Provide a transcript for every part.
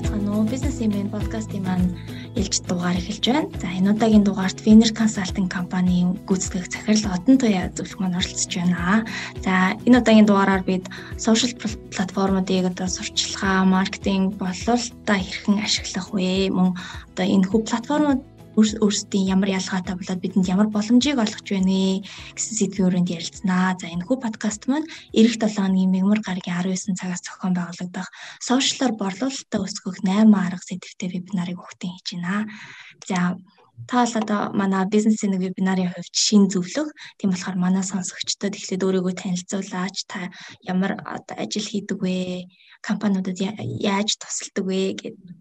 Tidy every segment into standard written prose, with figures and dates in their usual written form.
байцгаана уу? Business Email podcast-ийн маань илж дугаар эхэлж байна. За энэ удаагийн дугаарт Winner Consulting компанийн гүйцэтгэх захирал Одон Туяа зөвлөх маань оролцож байна. За энэ удаагийн дугаараар бид social платформуудыг одоо сурчилгаа, маркетинг бололтоо хэрхэн ашиглах вэ? Мөн одоо энэ хүү платформуд өөрсдийн ямар ялгаатай болоод бидэнд ямар боломжийг олгож байна гэсэн сэдвийн өрөөнд ярилцсанаа. За энэ хүү подкаст маань эх 7 хоногийн мягмар гарагийн 19 цагаас зохион байгуулагдах сошиалар борлуулалтаа өсгөх 8 арга сэдвтэй вебинарыг өгтөн хийж байна. За та бол одоо манай бизнесийн нэг вебинарын хувьд шин зөвлөх. Тийм болохоор манай сонсогчдод эхлээд өөрийгөө танилцуулаач. Та ямар одоо ажил хийдэг вэ? Компаниудад яаж тусалдаг вэ гэдэг.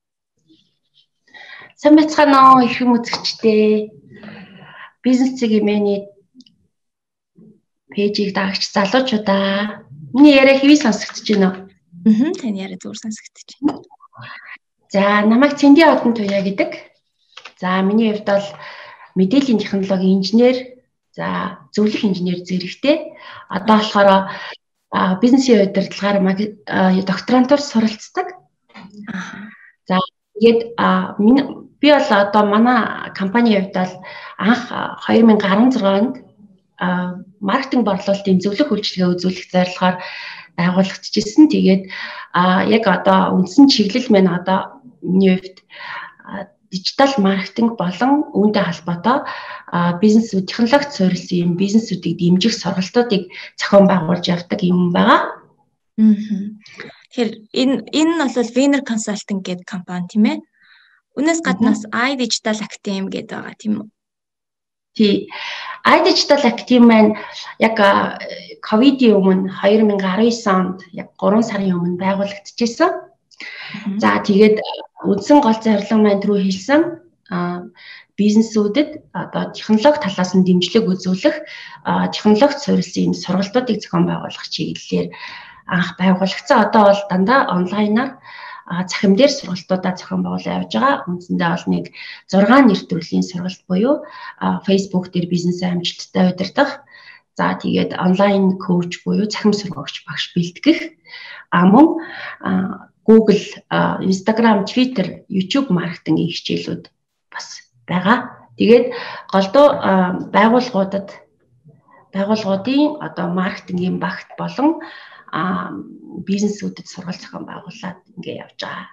Сайн байцгаана уу их юм үзэгчтэй. Бизнесийн эмээний пэйжийг дагагч залуучуудаа. Миний яриа хэвээ сонсогдож байна уу? Таны яриа зүгээр сонсогдож байна. За, намайг Цэнди Одон Туяа гэдэг. За, миний хувьд бол мэдээллийн технологийн инженер, за зөвлөх инженер зэрэгтэй. Одоо болохоор бизнесийн удирдлагаар докторантур суралцдаг. За, тэгээд би бол одоо манай компанийн хувьд бол анх 2016 онд маркетинг борлуулалтын зөвлөх үйлчилгээ үзүүлэх зорилгоор байгуулагдчихсэн. Тэгээд яг одоо үндсэн чиглэл маань одоо миний хувьд дижитал маркетинг болон үүнтэй холбоотой бизнесүүд технологид суурилсан бизнесүүдийг дэмжих сургалтуудыг зохион байгуулж явдаг юм байгаа. Тэгэхээр энэ бол Winner Consulting гэдэг компани тийм ээ. Үнээс гаднаас iDigital Academy гэдэг байгаа тийм үү? Тий. iDigital Academy маань яг ковидын өмнө 2019 онд яг 3 сарын өмнө байгуулагдчихсан. За тэгээд үндсэн гол зорилго маань түрүү хэлсэн бизнесүүдэд одоо технологи талаас нь дэмжлэг үзүүлэх технологид суурилсан сургалтуудыг зохион байгуулах чиглэлээр анх байгуулагдсан. Одоо бол дандаа онлайнаар захим дээр сургалтуудаа зохион байгуулж явж байгаа. Үндсэндээ бол нэг 6 нэр төрлийн сургалт буюу Facebook дээр бизнесээ амжилттай удирдах, за тэгээд онлайн коуч буюу захим сургагч багш бэлтгэх, мөн Google, Instagram, Twitter, YouTube маркетингийн хичээлүүд бас байгаа. Тэгээд голдуу байгууллагуудын одоо маркетингийн багт болон бизнесүүдэд сургалт зохион байгуулад ингэ явж байгаа.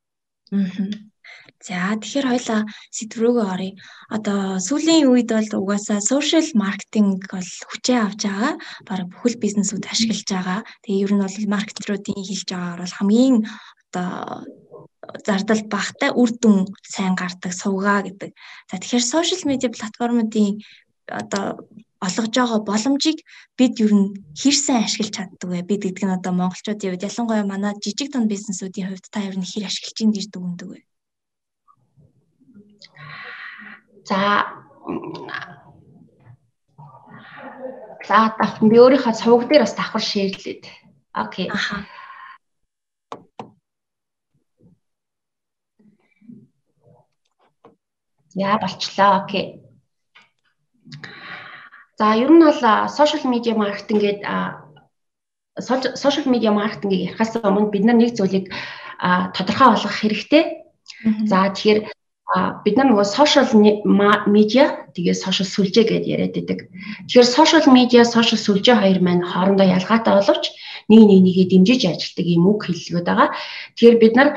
За тэгэхээр хоёлаа сэдв рүүгээ оръё. Одоо сүүлийн үед бол угаасаа social marketing бол хүчээ авч байгаа. Бараг бүхэл бизнесүүд ашиглаж байгаа. Тэгээ ер нь бол маркетеруудын хэлж байгаагаар бол хамгийн одоо зардал багтай үр дүн сайн гардаг сувгаа гэдэг. За тэгэхээр social media платформуудын одоо олгож байгаа боломжийг бид ер нь хэр сайн ашиглаж чаддаг вэ? Бид гэдэг нь одоо монголчуудын хувьд ялангуяа манай жижиг дунд бизнесүүдийн хувьд та ер нь хэр ашиглаж ийн гэж дүгнэдэг вэ? За давхан би өөрийнхөө суваг дээр бас давхар шеэрлээд. Окей. За болчлоо. Окей. За ер нь бол social media marketing гэдэг social media marketing-ийг ярихаас өмнө бид нар нэг зүйлийг тодорхой болгох хэрэгтэй. За тэгэхээр бид нар нөгөө social media тэгээ social сүлжээ гэдээ яриад байдаг. Тэгэхээр social media, social сүлжээ хоёр маань хоорондоо ялгаатай боловч нэгээ дэмжиж ажилладаг юм үг хэллэгүүд байгаа. Тэгэхээр бид нар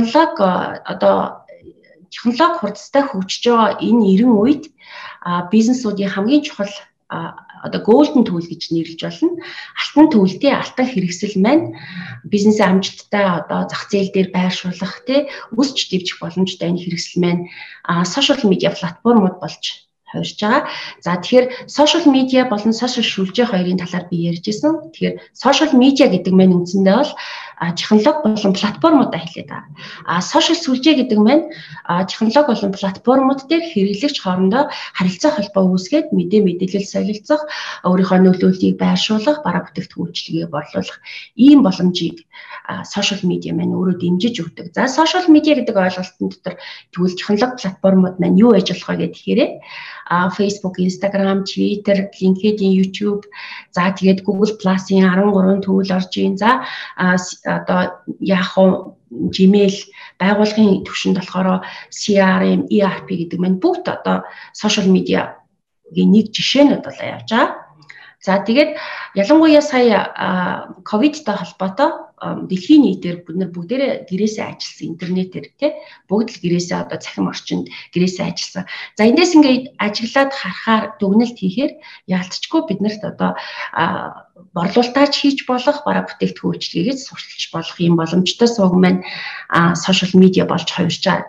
технологи хурдтай хөгжиж байгаа энэ эрен үед бизнесүүдийн хамгийн чухал одоо golden tool гэж нэрлэж болно. Алтан төлтэй алтан хэрэгсэл маань бизнесээ амжилттай одоо зах зээл дээр байршуулах өсч дэвжих боломжтой энэ хэрэгсэл маань social media платформуд болж хувирж байгаа. За тэгэхээр social media болон social сүлжээ хоёрын талаар би ярьж ирсэн. Тэгэхээр social media гэдэг маань үндсэндээ бол технологи болон платформудаа хэлээд байгаа. Social сүлжээ гэдэг маань технологи болон платформуд дээр хэрэглэгч хоорондоо харилцаа холбоо үүсгээд мэдээлэл солилцох, өөрийнхөө нөлөөллийг байршуулах, бараа бүтээгдэхүүн үйлчилгээ борлуулах ийм боломжийг social media маань өөрөө дэмжиж өгдөг. За social media гэдэг ойлголтын дотор тэгвэл технологи платформуд маань юу хийж болох вэ гэхээр Facebook, Instagram, Twitter, LinkedIn, YouTube, за тэгээд Google Plus-ийн 13 төвөл орж ийн. За одоо Yahoo, Gmail байгууллагын түвшинд болохоор CRM, ERP гэдэг маань бүгд одоо social media-гийн нэг жишээнүүд бол явж байгаа. За тэгээд ялангуяа сая ковидтай холбоотой дэлхийн нийтээр бид нар бүгдээрээ гэрээсээ ажилласан интернетээр тий бүгд л гэрээсээ одоо цахим орчинд гэрээсээ ажилласан. За эндээс ингээд ажиглаад харахаар дүгнэлт хийхээр яалтчгүй биднэрт одоо борлуулалтаач хийж болох бараа бүтээгдэхүүн үйлчилгээгээд сурталчилж болох юм боломжтой сувг маань сошиал медиа болж хувирч байгаа.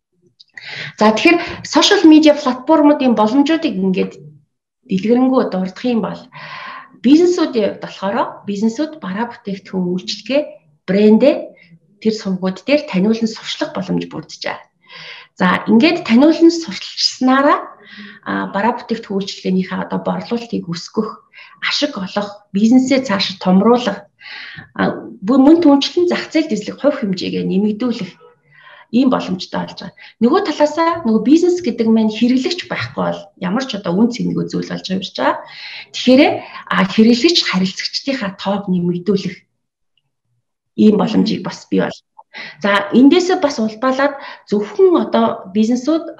За тэгэхээр сошиал медиа платформуудын боломжуудыг ингээд дэлгэрэнгүй дурдах юм бол бизнесүүдийн хувьд болохоор бизнесүүд бараа бүтээгдэхүүн үйлчилгээ брэндээ тэр сувгууд дээр таниулан сурчлах боломж бүрдэж байгаа. За ингээд таниулан сурталчилснараа бараа бүтээгдэхүүн үйлчилгээнийхээ одоо борлуулалтыг өсгөх, ашиг олох, бизнесээ цаашид томруулах, мөн түнчлэн зах зээл дэслэх хувь хэмжээгээ нэмэгдүүлэх ийм боломжтой болж байгаа. Нөгөө талаасаа нөгөө бизнес гэдэг маань хэрэглэгч байхгүй бол ямар ч одоо үн цэнэгүй зүйл болж хувирч байгаа. Тэгэхээр хэрэглэгч харилцагчдынхаа тоог нэмэгдүүлэх ийм боломжийг бас бий болж байна. За эндээсээ бас улбалаад зөвхөн одоо бизнесүүд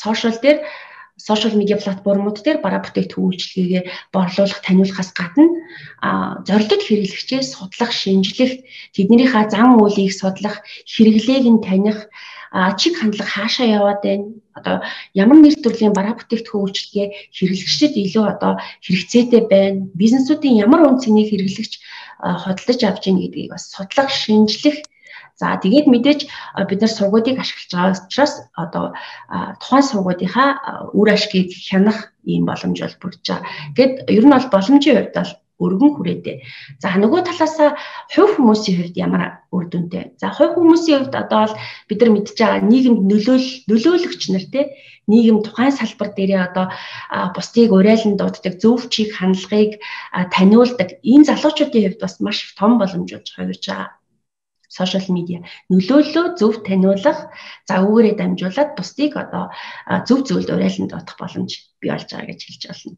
сошиал медиа платформуд дээр бараа бүтээгдэхүүн үйлчилгээгээ борлуулах, таниулахаас гадна зорилттой хэрэглэгчээ судлах, шинжлэх, тэднийхээ зан үйлийг судлах, хэрэглээг нь таних, чиг хандлага хаашаа яваад байна. Одоо ямар нэр төрлийн бараа бүтээгдэхүүн үйлчилгээ хэрэглэгчдэд илүү одоо хэрэгцээтэй байна. Бизнесүүдийн ямар үн цэнийг хэрэглэгч хөдөлж авч ийн гэдгийг бас судлах, шинжлэх. За тэгээд мэдээж бид нар сургуудыг ашиглаж байгаа учраас одоо тухайн сургуудынхаа үр ашгийг хянах ийм боломж бол бүрдэж байгаа. Гэт ер нь бол боломжийн хувьд бол өргөн хүрээтэй. За нөгөө талаасаа хувь хүмүүсийн хувьд ямар үр дүнтэй. За хувь хүмүүсийн хувьд одоо бол бид нар мэдж байгаа нийгэмд нөлөөлөгч нар те нийгэм тухайн салбар дээрээ одоо бусдыг урайлан дууддаг зөв чиг хандлагыг таниулдаг энэ залуучуудын хувьд бас маш том боломж болж хувирж байгаа. Сошиал медиа нөлөөллөө зөв таниулах, загварыг дамжуулаад бусдыг одоо зөв зөвлөлд урайлан дуудах боломж бий болж байгаа гэж хэлж байна.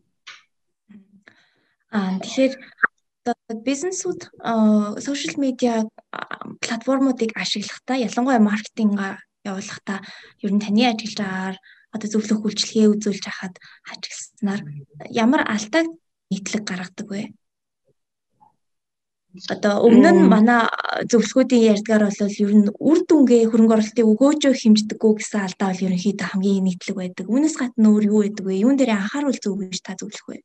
Тэгэхээр бизнесүүд сошиал медиа платформуудыг ашиглахдаа ялангуяа маркетинг явуулахдаа ер нь таны ажиллаж байгаагаар одоо зөвлөх үйлчилгээ үзүүлж хахад ажигласнаар ямар алдааг нийтлэг гаргадаг вэ? Одоо өмнө нь манай зөвлөхүүдийн ярьдгаар бол ер нь үр дүнгээ хөрөнгө оруулалтыг өгөөжөө хэмждэггүй гэсэн алдаа бол ерөнхийдөө хамгийн нийтлэг байдаг. Үүнээс гадна өөр юу байдаг вэ? Юун дээр анхааруул зөв гэж та зөвлөх вэ?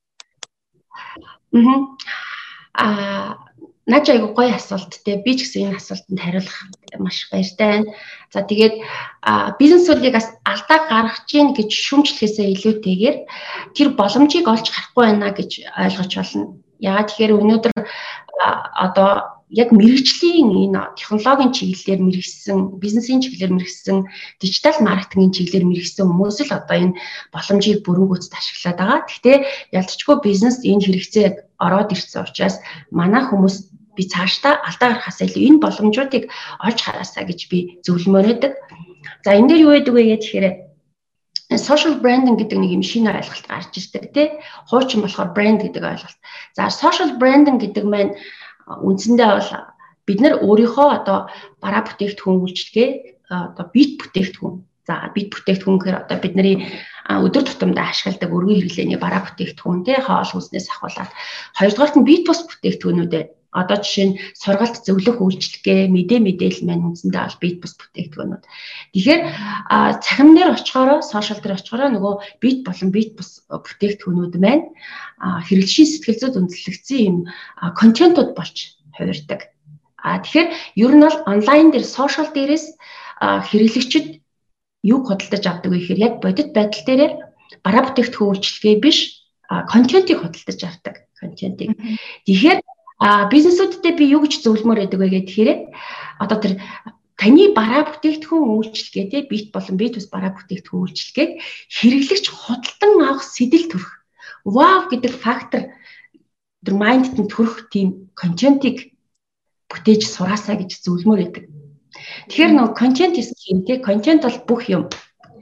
Наач айгу гоё асуулт те. Би ч гэсэн энэ асуултанд хариулах маш баяртай байна. За тэгээд бизнесүүдийг бас алдаа гаргаж гин гэж шүүмжлэхээсээ илүүтэйгээр тэр боломжийг олж харахгүй байна гэж ойлгож байна. Яагаад тэгэхээр өнөөдөр одоо яг мэрэгжлийн энэ технологийн чиглэлээр мэрэгсэн, бизнесийн чиглэлээр мэрэгсэн, дижитал маркетингийн чиглэлээр мэрэгсэн хүмүүс л одоо энэ боломжийг бүрэн гүйцэд ашиглаад байгаа. Гэхдээ ялцчгүй бизнес энэ хэрэгцээг ороод ирсэн учраас манай хүмүүс би цаашдаа алдаа гарахаас илүү энэ боломжуудыг олж хараасаа гэж би зөвлөмөр өгдөг. За энэ дээр юу гэдэг вэ гэхээр social branding гэдэг нэг юм шинэ ойлголт гарч ирдэг тий. Хуучин болохоор брэнд гэдэг ойлголт. За social branding гэдэг маань үндсэндээ бол бид нар өөрийнхөө одоо бараа бүтээгдэхүүн үйлчилгээ одоо бит бүтээгдэхүүн. За бит бүтээгдэхүүн гэхээр одоо бидний өдөр тутамдаа ашигладаг өргөн хэрэглээний бараа бүтээгдэхүүн тий хоол хүнснээс ахуулаад хоёрдугаарт нь бит бус бүтээгдэхүүнүүдээ одоо жишээ нь сургалт зөвлөх үйлчилгээ, мэдээлэл маань үндсэндээ бол бит бус бүтээгдэхүүнүүд. Тэгэхээр цахим дээр очихороо, сошиал дээр очихороо нөгөө бит болон бит бус бүтээгдэхүүнүүд маань хэрэглэшийн сэтгэл зүйд үндэслэгдсэн юм контентууд болж хувирдаг. Тэгэхээр ер нь бол онлайн дээр, сошиал дээрээс хэрэглэгчид юу худалдаж авдаг вэ гэхээр яг бодит байдал дээр бараа бүтээгдэхүүн үйлчилгээ биш, контентийг худалдаж авдаг. Контентийг. Тэгэхээр бизнесүүдтэй би юу гэж зөвлөмөр байдаг вэ гэхээр одоо тэр таны бараа бүтээгдэхүүн үйлчилгээ те бит болон бит ус бараа бүтээгдэхүүн үйлчилгээг хэрэглэгч худалдан авах сэтэл төрөх. Вау гэдэг фактор тэр майндд нь төрөх тийм контентийг бүтээж сураасаа гэж зөвлөмөр байдаг. Тэгэхээр нөгөө контент is key те контент бол бүх юм.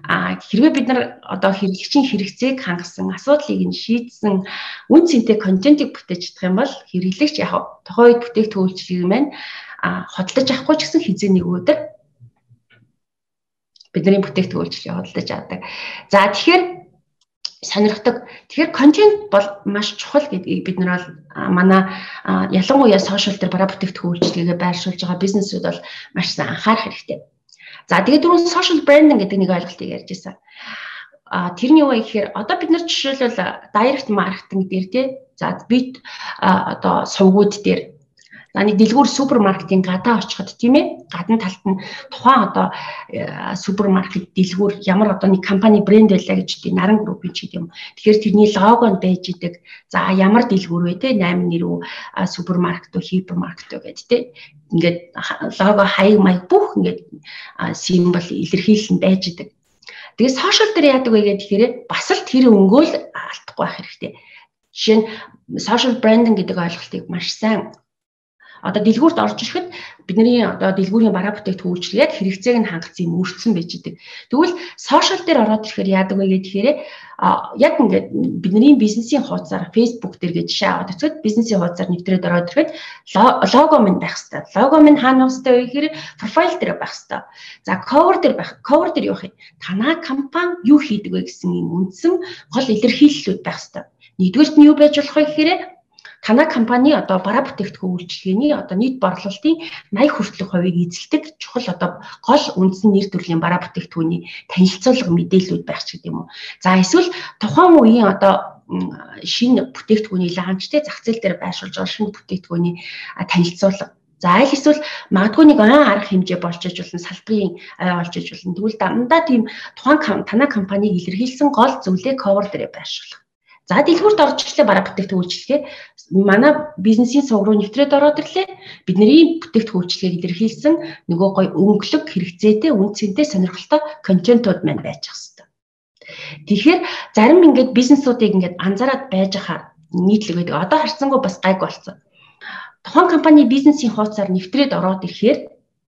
хэрвээ бид нар одоо хэрэглэгчийн хэрэгцээг хангасан, асуудлыг нь шийдсэн үн цэнтэй контентыг бүтээж чадах юм бол хэрэглэгч яг тухайн үед бүтээгдэхүүн үйлчилгээг маань хөдөлж авахгүй ч гэсэн хизээ нэг өдөр бидний бүтээгдэхүүн үйлчилгээг хөдөлж авдаг. За тэгэхээр сонирхдаг. Тэгэхээр контент бол маш чухал гэдгийг бид нар бол манай ялангуяа сошиал дээр бараа бүтээгдэхүүн үйлчилгээгээ байршуулж байгаа бизнесүүд бол маш сайн анхаарах хэрэгтэй. За тэгээд түрүүн social branding гэдэг нэг ойлголтыг ярьж байсан. Тэрний юу вэ гэхээр одоо бид нар жишээлбэл direct marketing дээр тий за бид одоо сувгууд дээр за нэг дэлгүүр супермаркетын гадаа очиход тийм ээ гадна талд нь тухайн одоо супермаркет дэлгүүр ямар одоо нэг компани брэнд байлаа гэж тийм наран группийн ч гэдэм. Тэгэхээр тэрний лого нь байж идэг. За ямар дэлгүүр вэ те 8 нэр үү супермаркет үү хипермаркет үү гэдэг те. Ингээд лого хаяг маяг бүх ингээд символ илэрхийлэл нь байж идэг. Тэгээд сошиал дээр яадаг вэ гэхээр бас л тэр өнгөөл алдахгүй байх хэрэгтэй. Жишээ нь social branding гэдэг ойлголтыг маш сайн одоо дэлгүүрт орж ирэхэд бидний одоо дэлгүүрийн бараа бүтээгдэхүүн үйлчилгээд хэрэгцээг нь хангацсан юм өртсөн байж идэг. Тэгвэл сошиал дээр ороод ирэхээр яадаг вэ гэхээр яг ингээд бидний бизнесийн хуудасаар Facebook дээр гэж жишээ аваад үзэхэд бизнесийн хуудасаар нэвтрээд ороод ирэхэд лого минь байх хэрэгтэй. Лого минь хаана байх хэрэгтэй вэ гэхээр профайл дээр байх хэрэгтэй. За cover дээр байх. Cover дээр юу вэ? Танай компани юу хийдэг вэ гэсэн юм үндсэн гол илэрхийллүүд байх хэрэгтэй. Нэгдүгээрт нь юу байж болох вэ гэхээр танай компани одоо бараа бүтээгдэхүүн үйлчилгээний одоо нийт борлуулалтын 80 хүртэлх хувийг эзэлдэг чухал одоо гол үндсэн нэр төрлийн бараа бүтээгдэхүүний танилцуулга мэдээлэлүүд байх ч гэдэм үү. За эсвэл тухайн үеийн одоо шинэ бүтээгдэхүүний лаунчтэй зах зээл дээр байршуулж байгаа шинэ бүтээгдэхүүний танилцуулга. За аль эсвэл магадгүй нэг арга хэмжээ болж иж болно, салбарын болж иж болно. Тэгвэл дандаа тийм тухайн танай компаниг илэрхийлсэн гол зүйлээ cover дээр байршуулах. За дэлгүүрт орж ирлээ бараа бүтээгдэхүүн үйлчилгээ манай бизнесийн сувг руу нэвтрээд ороод ирлээ. Бидний бүтээгдэхүүн үйлчилгээг илэрхийлсэн нөгөө гой өнгөлөг хэрэгцээтэй үн цэнтэй сонирхолтой контентууд маань байж ах хэвээр. Тэгэхээр зарим ингээд бизнесуудыг ингээд анзаараад байж хаа нийтлэг байдаг. Одоо харцсангүй бас гайг болсон. Тухайн компани бизнесийн хуудасаар нэвтрээд ороод ирэхээр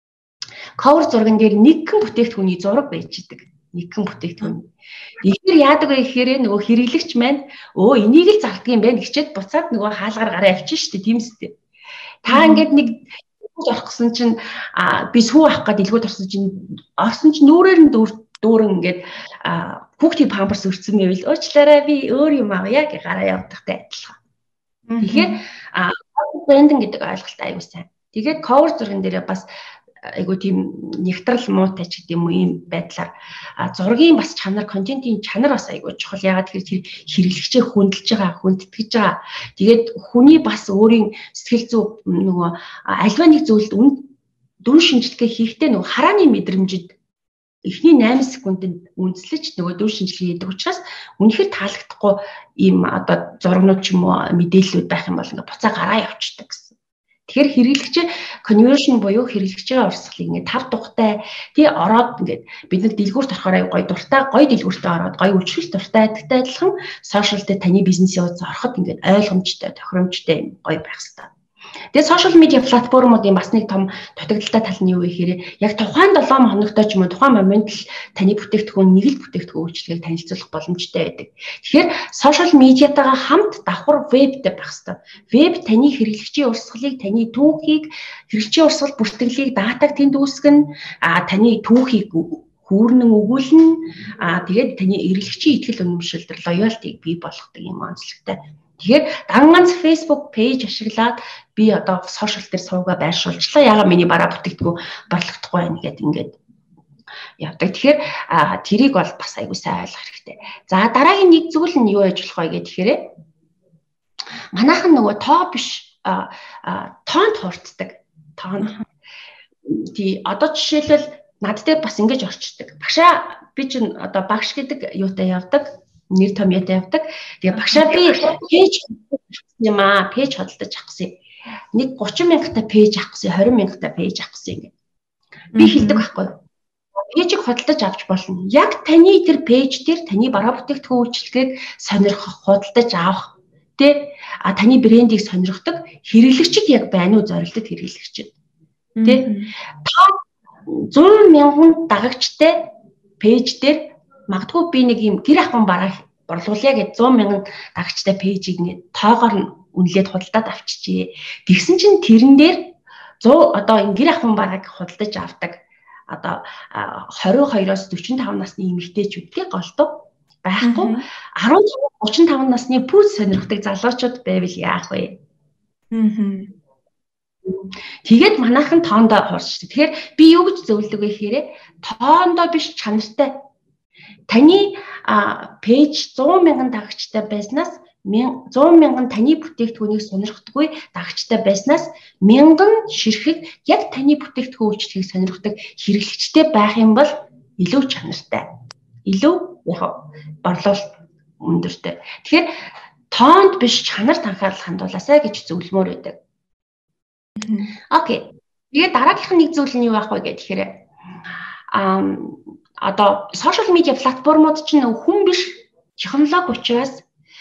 cover зурган дээр нэгэн бүтээгдэхүүний зураг байж идэг. Нэгэн бүтээгдэхүүн. Тэгэхээр яадаг вэ гэхээр нөгөө хэрэглэгч маань энийг л зарддаг юм байна гэчээд буцаад нөгөө хаалгаар гараа авчих шүү дээ тийм үстэй. Та ингээд нэг орох гэсэн чинь би сүү авах гээд дэлгүүрт орсон чинь нүрээр нь дүүрэн ингээд хүүхдийн памперс өрцсөн байвал уучлаарай би өөр юм авъя гэж гараа явуудахтай адилхан. Тэгэхээр брендинг гэдэг ойлголт аюу сайн. Тэгээд cover зурган дээр бас айгуу тийм нэгтрал муутай ч гэдэм үү ийм байдлаар зургийн бас чанар, контентын чанар бас айгуу чухал. Ягаад гэхээр тэр хэрэглэгчээ хүндэлж байгаа, хүндэтгэж байгаа. Тэгээд хүний бас өөрийн сэтгэл зүй нөгөө альва нэг зүйлд дүн шинжилгээ хийхдээ нөгөө харааны мэдрэмжид эхний 8 секундэд үндэслэж нөгөө дүн шинжилгээ хийдэг учраас үнэхээр таалагдахгүй ийм одоо зургнууд ч юм уу мэдээллүүд байх юм бол ингээ буцаа гараа явчихдаг гэсэн. Тэгэхээр хэрэглэгчээ conversion буюу хэрэглэгчээ урсгалыг ингээд 5 тухтай тий ороод ингээд бид нар дэлгүүрт орохоор гоё дуртай гоё дэлгүүртээ ороод гоё үйлчлэл дуртай адилтай адилхан сошиал дээр таны бизнесийн хуудас ороход ингээд ойлгомжтой тохиромжтой гоё байх хэрэгтэй. Тэгээд сошиал медиа платформуудын бас нэг том дутагдaltaй тал нь юу вэ гэхээр яг тухайн 7 хоногтой ч юм уу тухайн момент л таны бүтээгдэхүүн нэг л бүтээгдэхүүн үйлчлэгийг танилцуулах боломжтой байдаг. Тэгэхээр сошиал медиатайгаа хамт давхар вебтэй байх хэрэгтэй. Веб таны хэрэглэгчийн урсгалыг, таны түүхийг, хэрэглэгчийн урсгал бүртгэлийг датаг тэнд үүсгэн, таны түүхийг хүүрнэн өгүүлнэ. Тэгээд таны хэрэглэгчийн итгэл үнэмшилтэр лоялтиг бий болгодог юм онцлогтой. Тэгэхээр ганц Facebook пэйж ашиглаад би одоо сошиал дээр сувгаа байршуулчлаа. Яагаад миний бараа бүтээгдэхүүн борлогдохгүй байна гэдэг ингээд явдаг. Тэгэхээр тэрийг бол бас аягүй сайн ойлгох хэрэгтэй. За дараагийн нэг зүйл нь юу яж болох вэ гэхээр манайхан нөгөө тоо биш тоонд хурцдаг. Тоон. Тий одоо жишээлбэл над дээр бас ингэж орчдөг. Багшаа би чинь одоо багш гэдэг юутай явдаг. Нэр томьёотой явдаг. Тэгээ багшаа би пэйж юм пэйж хөдөлж авах гэсэн. Нэг 30 мянгаттай пэйж авах гэсэн, 20 мянгаттай пэйж авах гэсэн ингэ. Би хэлдэг байхгүй юу? Пэйжийг хөдөлж авч болно. Яг таны тэр пэйж дээр таны бараа бүтээгдэхүүн үйлчилгээг сонирхох, хөдөлж авах тэ таны брендийг сонирхдаг хэрэглэгчид яг байна уу зорилттой хэрэглэгчид. Тэ та 100 мянган дагагчтай пэйж дээр магадгүй би нэг юм гэр ахуйн бараа борлуулъя гэж 100 мянган дагагчтай пэйжийг ингээд тоогоор үнэлээд худалдаад авчижээ. Тэгсэн чинь тэрэн дээр 100 одоо энэ гэр ахуйн барааг худалдаж авдаг одоо 22-оос 45 насны эмэгтэйчүүдтэй голдуу байхгүй 15-35 насны пүүс сонирхдаг залуучууд байвал яах вэ? Тэгээд манайхан тоондоо хуурч. Тэгэхээр би юу гэж зөвлөдөг вэ гэхээр тоондоо биш чанартай. Таны пэйж 100 мянган дагагчтай байснаас 100 мянган таны бүтээгдэхүүнийг сонирхдаггүй дагагчтай байснаас 1000 ширхэг яг таны бүтээгдэхүүн үйлчлэгийг сонирхдаг хэрэглэгчтэй байх юм бол илүү чанартай. Илүү яг борлуулалт өндөртэй. Тэгэхээр тоонд биш чанарт анхаарал хандуулаасай гэж зөвлөмөр байдаг. Окей. Тэгээд дараагийнх нь нэг зүйл нь юу байх вэ гэхээр одоо сошиал медиа платформуд чинь хүн биш технологи учраас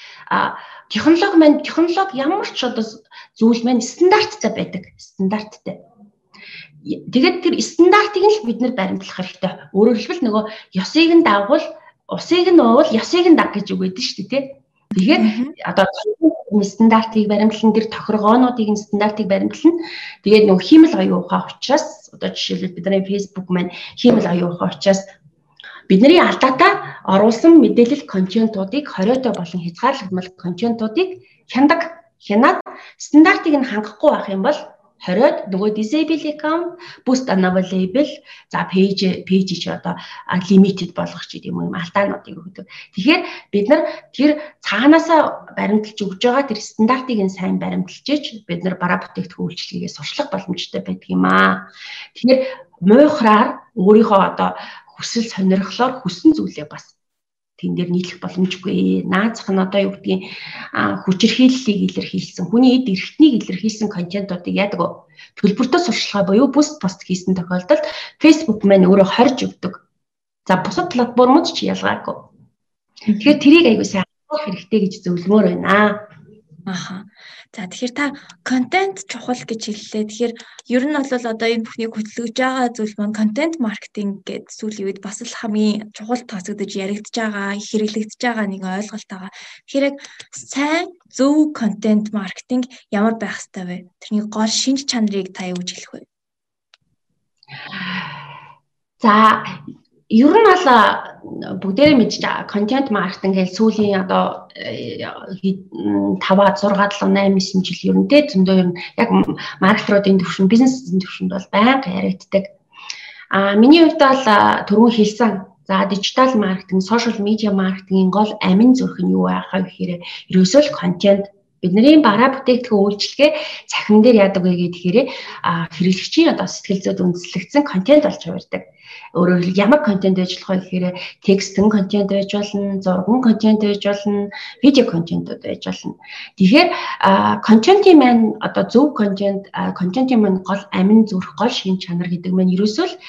технологи ямар ч одоо зүйл маань стандарттай байдаг. Стандарттай. Тэгээд тэр стандартыг л бид нэр баримтлах хэрэгтэй. Өөрөөр хэлбэл нөгөө ёсыг нь дагвал усыг нь уувал ёсыг нь даг гэж үг гэдэг шүү дээ, тий. Тэгэхээр одоо стандартыг баримтлан тэр тохиргоонуудыг нь стандартыг баримтлан тэгээд нөгөө хиймэл оюун ухаан учраас одоо жишээлбэл бидний Facebook маань хиймэл оюун ухаан учраас бидний алдаатай оруулсан мэдээлэл контентуудыг хориотой болон хязгаарлагдмал контентуудыг хянаад стандартыг нь хангахгүй байх юм бол хориод нөгөө disable account, boost unavailable, за page чи одоо limited болгох ч гэдэг юм алдаануудыг өгдөг. Тэгэхээр бид нар тэр цаанаасаа баримталж өгж байгаа тэр стандартыг нь сайн баримталж ич бид нар бараа бүтээгдэхүүн үйлчлэгээ сурчлах боломжтой байдаг юм аа. Тэгэхээр муухраар өөрийнхөө одоо хүсэл сонирхлоор хүссэн зүйлээ бас тэн дээр нийлэх боломжгүй. Наацх нь одоо юу гэдгийг хүчирхийллийг илэрхийлсэн, хүний эд эрхтнийг илэрхийлсэн контентуудыг яадаг вэ? Төлбөртөө сурчлагаа буюу пост хийсэн тохиолдолд Facebook маань өөрөө хорж өгдөг. За бусад платформуд ч ялгаагүй. Тэгэхээр тэрийг аягүй сайн анхаарах хэрэгтэй гэж зөвлөмөр байна. Аха. За тэгэхээр та контент чухал гэж хэллээ. Тэгэхээр ер нь бол одоо энэ бүхнийг хөдөлгөж байгаа зүйл маань контент маркетинг гэдэг зүйлийн үед бас л хамгийн чухал тооцогдож яригдж байгаа, хэрэглэгдэж байгаа нэг ойлголт байгаа. Тэгэхээр яг сайн зөв контент маркетинг ямар байх ёстой вэ? Тэрний гол шинж чанарыг та юу гэж хэлэх вэ? За ер нь бол бүгдээрээ мэдж байгаа контент маркетинг гэж сүүлийн одоо 5, 6, 7, 8, 9 жил ер нь тэ зөндөө ер нь яг маркетеруудын төвшин, бизнесийн төвшөнд бол байнга яригддаг. Миний хувьд бол түрүүн хэлсэн. За дижитал маркетинг, сошиал медиа маркетингийн гол амин зүрх нь юу байх вэ гэхээр ерөөсөө л контент бидний бараа бүтээгдэхүүн үйлчлэгээ цахим дээр яадаг вэ гэхээр хэрэглэгчийн одоо сэтгэл зүйд үндэслэгдсэн контент болж хувирдаг. Өөрөөр хэлбэл ямар контент байж болох вэ гэхээр текстэн контент байж болно, зурган контент байж болно, видео контентууд байж болно. Тэгэхээр контентын маань одоо зөв контентын маань гол амин зүрх, гол шин чанар гэдэг маань ерөөсөө л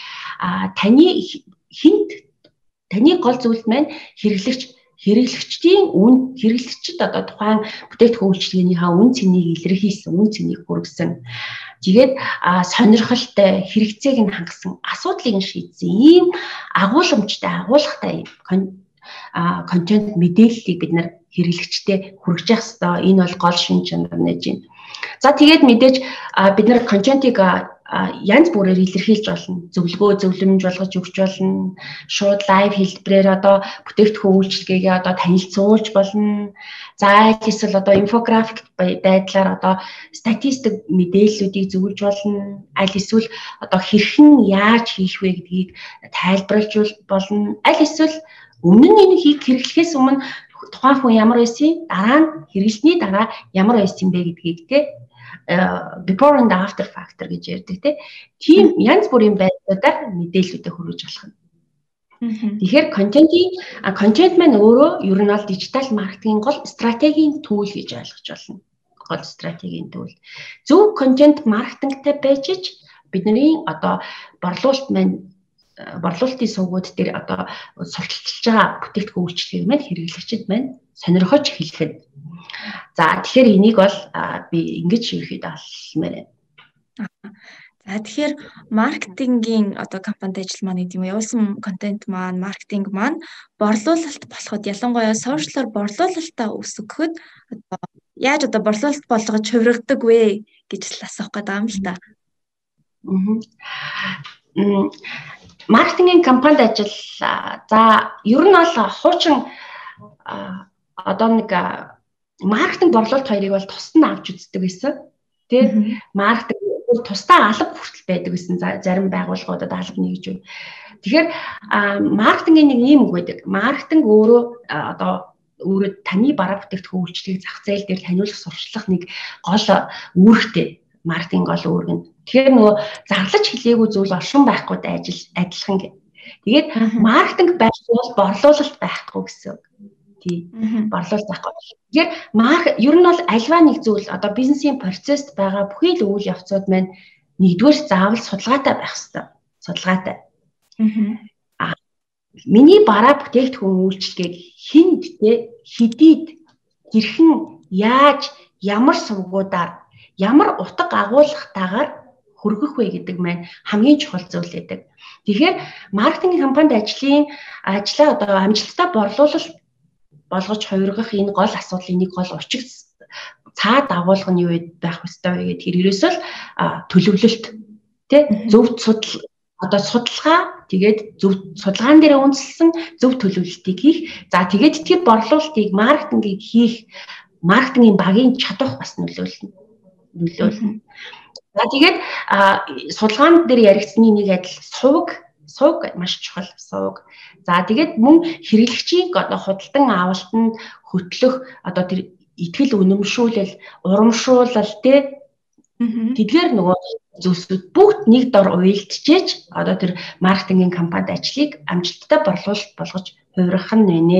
таны гол зүйлд маань хэрэглэгчдийн хэрэглэгчд одоо тухайн бүтээгдэхүүн үйлчилгээнийхээ үн цэнийг илэрхийлсэн, үн цэнийг хүргэсэн. Тэгээд сонирхолтой хэрэгцээг нь хангасан, асуудлыг нь шийдсэн ийм агуулмжтай, агуулгатай контент мэдээллийг бид нар хэрэглэгчтэй хүргэж явах ёстой. Энэ бол гол шин чанар нэж байна. За тэгээд мэдээж бид нар контентыг янз бүрээр илэрхийлж болно. Зөвлөгөө зөвлөмж болгож өгч болно. Шууд лайв хэлбэрээр одоо бүтээгдэхүүн үйлчилгээгээ одоо танилцуулж болно. За эсвэл одоо инфографик байдлаар одоо статистик мэдээллүүдийг зөвлөж болно. Аль эсвэл одоо хэрхэн яаж хийх вэ гэдгийг тайлбарлаж болно. Аль эсвэл өмнө нь энэ хэрэглэхээс өмнө тухайн хүн ямар байсан, дараа нь хэрэглэсний дараа ямар байсан бэ гэдгийг before and after factor гэж ярьдаг тийм янз бүрийн байдлуудаар мэдээллүүдээ хүргэж болох юм. Тэгэхээр контент маань өөрөө ер нь бол дижитал маркетингийн гол стратегийн түүл гэж ойлгож болно. Гол стратегийн түүл. Зөв контент маркетингтай байж бидний одоо борлуулалтын сувгууд дээр одоо сурталчилж байгаа бүтээгдэхүүн үйлчлэгийг маань хэрэглэгчид маань сонирхож хэлэхэд. За тэгэхээр энийг бол би ингэж ерөөхдөө алмаар байна. Тэгэхээр маркетингийн одоо компанид ажил маань гэдэг юм явуулсан контент маань, маркетинг маань борлуулалт болоход ялангуяа сошиалор борлуулалтаа өсгөхөд одоо яаж одоо борлуулалт болгож хувиргадаг вэ гэж л асуух гэдэг юм л та. Маркетингийн компанид ажил за ер нь бол хуучин одоо нэг маркетинг борлуулалт хоёрыг бол тусад авч үздэг байсан. Тэ маркетинг тусдаа алба хүртэл байдаг гэсэн зарим байгууллагуудад алба нэгж байна. Тэгэхээр маркетингийн нэг ийм үг байдаг. Маркетинг өөрөө одоо өөрөө таны бараа бүтээгдэхүүн үйлчлэгийг зах зээл дээр таниулах, сурчлах нэг гол үүрэгтэй. Маркетинг гол үүрэг нь. Тэгэхээр нөгөө зарлаж хэлээгүй зүйл оршин байхгүйд адилхан гэх. Тэгээд маркетинг байвал борлуулалт байхгүй гэсэн үг. Тий. Борлуулалт байхгүй. Тэгэхээр ер нь бол альва нэг зүйл одоо бизнесийн процессд байгаа бүхий л үйл явцууд маань нэгдүгээр заавал судалгаатай байх хэрэгтэй. Судалгаатай. Миний бараа бүтээгдэхүүн үйлчлэгийг хүнд хэдийд хэрхэн яаж ямар сувгуудаар ямар утга агуулгатаагаар хүргэх вэ гэдэг маань хамгийн чухал зүйл байдаг. Тэгэхээр маркетинг компанид ажлаа одоо амжилттай борлуулалт болгож хувиргах энэ гол асуудлын нэг гол учиг цаад агуулга нь юу байх ёстой вэ гэдэг хэрэгээс л төлөвлөлт тий зөв судалгаа тэгээд зөв судалгаан дээр үндэслэн зөв төлөвлөлтийг хийх. За тэгээд тэр борлуулалтыг маркетингийг хийх маркетингийн багийн чадвар бас нөлөөлнө. За тэгээд судалгаан дээр яригдсны нэг адил сувг маш чухал сувг. За тэгээд мөн хэрэглэгчийн одоо худалдан авалтанд хөтлөх одоо тэр итгэл үнэмшүүлэл, урамшуулал тэдгээр нөгөө зүйлсүүд бүгд нэг дор уялдчихэж одоо тэр маркетингийн компанид ажлыг амжилттай борлуулалт болгож хувиргах нь байна.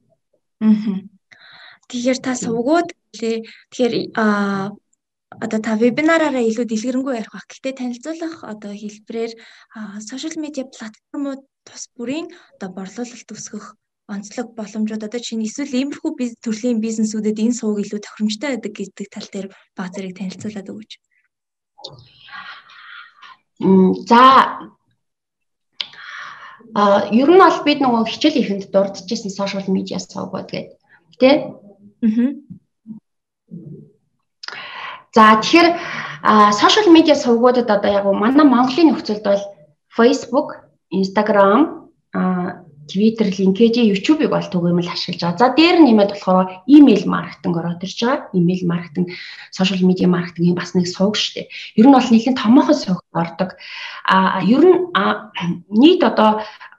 Тэгэхээр та сувгууд тэгэхээр одоо та вебинараараа илүү дэлгэрэнгүй ярих бах. Гэхдээ танилцуулах одоо хэлбэрээр сошиал медиа платформуд тус бүрийн одоо борлуулалт өсгөх онцлог боломжууд одоо чинь эсвэл иймэрхүү төрлийн бизнесүүдэд энэ сувг илүү тохиромжтой байдаг гэдэг тал дээр баг зэрэг танилцуулаад өгөөч. За ер нь бол бид нөгөө хичээл ихэнд дурдчихсан сошиал медиа сувгууд гэдэг тий. За тэгэхээр сошиал медиа сувгуудад одоо яг манай Монголын нөхцөлд бол Facebook, Instagram, Twitter, LinkedIn, YouTube-ыг бол түгээмэл ашиглаж байгаа. За дээр нэмээд болохоор email маркетинг ороод ирж байгаа. Email маркетинг, сошиал медиа маркетингийн бас нэг сувг шүү дээ. Ер нь бол нэлийн томоохон сувг ордог. Ер нь нийт одоо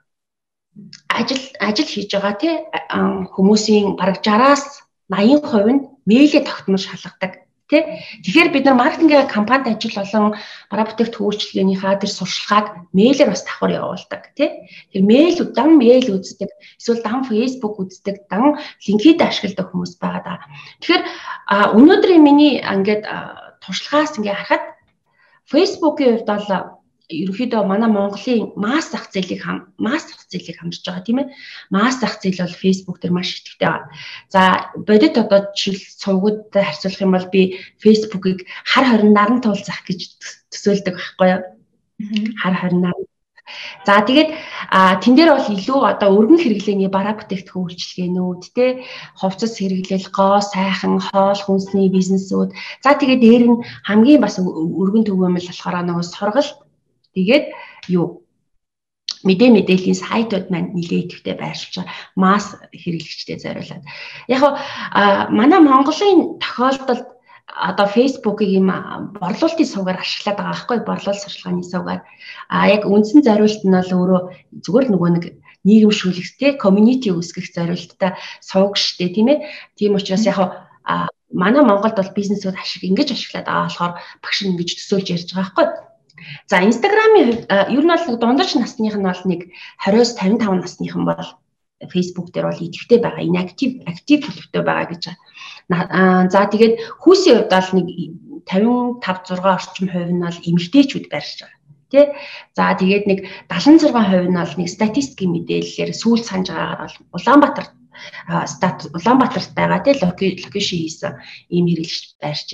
ажил хийж байгаа тий хүмүүсийн бараг 60-аас 80% нь мэйлээ тогтмол шалгадаг. Тэгэхээр бид нар маркетингийн компанид ажил болон бараа бүтээгдэхүүн үйлчилгээнийхаа тэр сурчлагыг мэйлээр бас давхар явуулдаг тий. Тэр дан мэйл үздэг, эсвэл дан Facebook үздэг, дан LinkedIn ашигладаг хүмүүс байгаа даа. Тэгэхээр өнөөдрийн миний ингээд туршлагаас ингээд харахад Facebook-ийн хувьд бол ерөнхийдөө манай Монголын масс зах зээлийг хамжиж байгаа тийм ээ. Масс зах зээл бол Facebook дээр маш идэвхтэй байгаа. За бодит одоо жишээл сувгуудтай харьцуулах юм бол би Facebook-ыг хар хорин наран туул зах гэж төсөөлдөг байхгүй юу? Хар хорин наран. За тэгээд тэн дээр бол илүү одоо өргөн хэрэглээний бараа бүтээгдэхүүн үйлчилгээнүүд те хувцас хэрэглэл, гоо, сайхан, хоол хүнсний бизнесүүд. За тэгээд дээр нь хамгийн бас өргөн төгөөмөл болохоор нөгөө сургалт тэгээд мэдээллийн сайтууд маань нэлээд идэвхтэй байршиж байгаа. Масс хэрэглэгчдэд зориулаад. Яг манай Монголын тохиолдолд одоо Facebook-ыг юм борлуулалтын сувгаар ашиглаад байгаа байхгүй борлуулалт сурчлагын сувгаар. Яг үндсэн зориулт нь бол өөрөө зүгээр нөгөө нэг нийгэмшүүлэгтэй community үүсгэх зориулттай сувг штэ тийм ээ. Тийм учраас яг манай Монголд бол бизнесүүд ингэж ашиглаад байгаа болохоор багш нь ингэж төсөөлж ярьж байгаа байхгүй. За Instagram-ийн ер нь бол дундаж насных нь бол нэг 20-с 55 насных нь бол Facebook дээр бол идэвхтэй байгаа. Энэ актив төлөвтэй байгаа гэж байна. За тэгээд хүүсийн хувьд бол нэг 55-6 орчим хувь нь бол эмэгтэйчүүд байршиж байгаа. Тэ? За тэгээд нэг 76% нь бол нэг статистикийн мэдээллээр сүүл санаж байгаагаар бол Улаанбаатарт байгаа тий локейшн хийсэн ийм хэрэглэгч байршиж байна.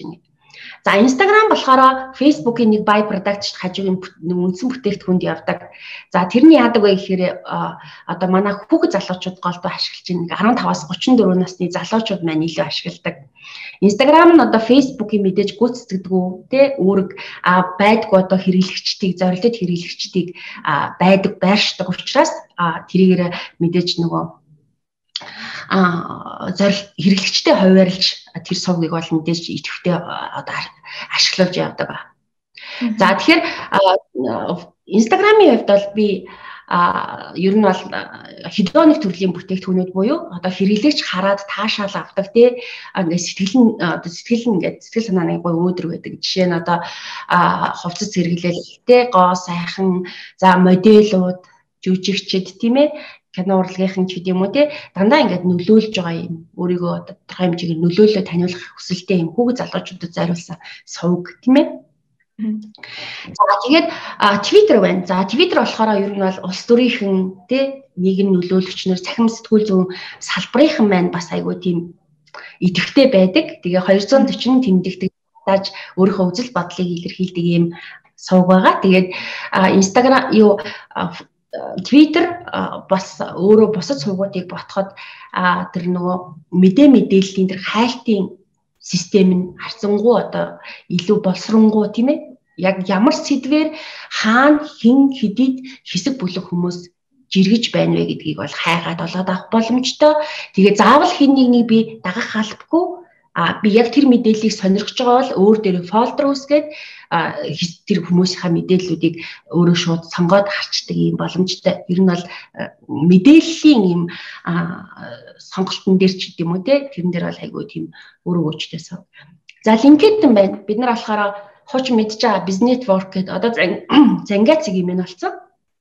За Instagram болохоор Facebook-ийн нэг by product хажуугийн үндсэн бүтээгдэхүүнд явдаг. За тэрний яадаг вэ гэхээр одоо манай хүүхэд залуучууд голдуу ашиглаж байна. 15-аас 34 насны залуучууд маань илүү ашигладаг. Instagram нь одоо Facebook-ийн мэдээж гүйцэтгэдэггүй те үүрэг байдгүй одоо хэрэглэгчдийг зорилттой хэрэглэгчдийг байдаг байршдаг учраас тэрийгээр мэдээж нөгөө зорилт хэрэглэгчтэй хуваарилж тэр сувгийг бол мэдээж идэвхтэй одоо ашиглуулж явдаг ба. За тэгэхээр Instagram-ийн хувьд бол би ер нь бол хэдэн нэг төрлийн бүтээгдэхүүнүүд буюу одоо хэрэглэгч хараад таашаал авдаг тий ингээд сэтгэл санааны гой өөдрөг байдаг. Жишээ нь одоо хувцас хэрэглээлтэй гоо сайхан за модельууд жүжигчд тийм ээ кино урлагийнхан ч гэдэм үү те дандаа ингээд нөлөөлж байгаа юм өөрийгөө тодорхой хэмжээгээр нөлөөлөө таниулах хүсэлтэй юм хүүхэд залуучуудад зориулсан сувг тийм ээ. За тэгээд Twitter байна. За Twitter болохоор ер нь бол улс төрийнхэн те нийгэм нөлөөлөгчнөр цахим сэтгүүл зүүн салбарынхан маань бас айгүй тийм идэвхтэй байдаг. Тэгээ 240 тэмдэгтэй тааж өөрийнхөө үзэл бодлыг илэрхийлдэг юм сувг байгаа. Тэгээд Instagram Twitter бас өөрөө бусад сувгуудыг ботход тэр нөгөө мэдээллийн тэр хайлтын систем нь харцангуй одоо илүү боловсронгуй тийм ээ. Яг ямар сэдвээр хаана хэн хэдийд хэсэг бүлэг хүмүүс жиргэж байна вэ гэдгийг бол хайгаад олоод авах боломжтой. Тэгээ заавал хэн нэгнийг би дагах албагүй. Би яг тэр мэдээллийг сонирхож байгаа бол өөр дээр фолдер үүсгээд тэр хүмүүсийнхаа мэдээллүүдийг өөрөө шууд сонгоод харчдаг юм боломжтой. Ер нь бол мэдээллийн юм сонголтын дээр ч гэдэм үү те тэрэн дээр бол айгүй тийм өөрөө өөрчлөөсөө. За LinkedIn байна. Бид нар болохоор хуучин мэдж байгаа Business Network гэдэг одоо зангаа цэг юм байна болсон.